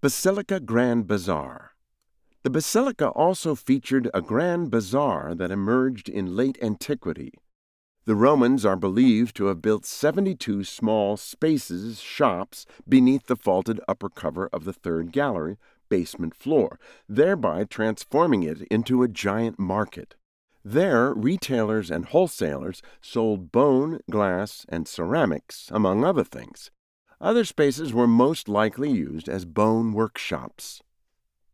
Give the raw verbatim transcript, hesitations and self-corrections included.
Basilica Grand Bazaar. The basilica also featured a grand bazaar that emerged in late antiquity. The Romans are believed to have built seventy-two small spaces, shops, beneath the vaulted upper cover of the third gallery, basement floor, thereby transforming it into a giant market. There, retailers and wholesalers sold bone, glass, and ceramics, among other things. Other spaces were most likely used as bone workshops.